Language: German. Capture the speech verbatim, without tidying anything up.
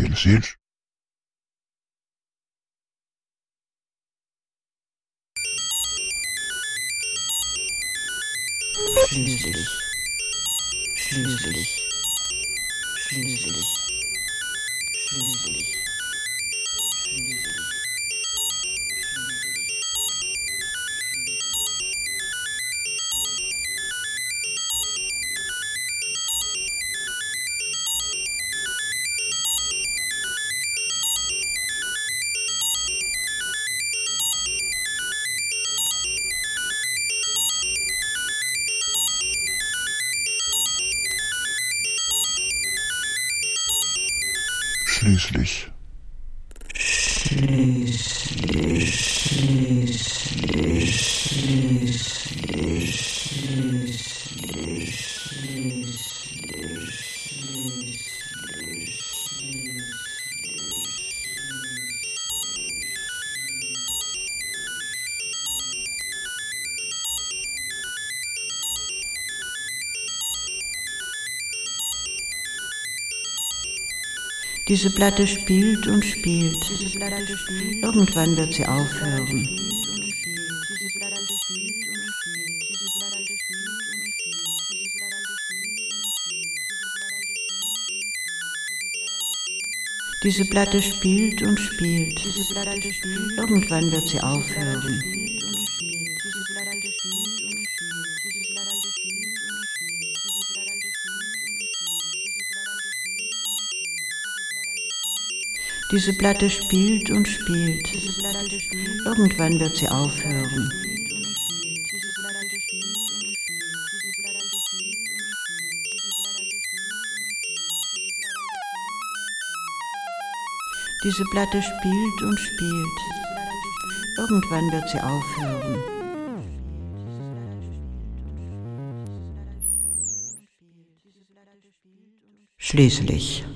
Schließlich. Schließlich. Schließlich. Schließlich. Schließlich. Schließlich. Schließlich, schließlich, schließlich, schließlich, Diese Platte spielt und spielt. Irgendwann wird sie aufhören. Diese Platte spielt und spielt. Irgendwann wird sie aufhören. Diese Platte spielt und spielt. Irgendwann wird sie aufhören. Diese Platte spielt und spielt. Irgendwann wird sie aufhören. Schließlich.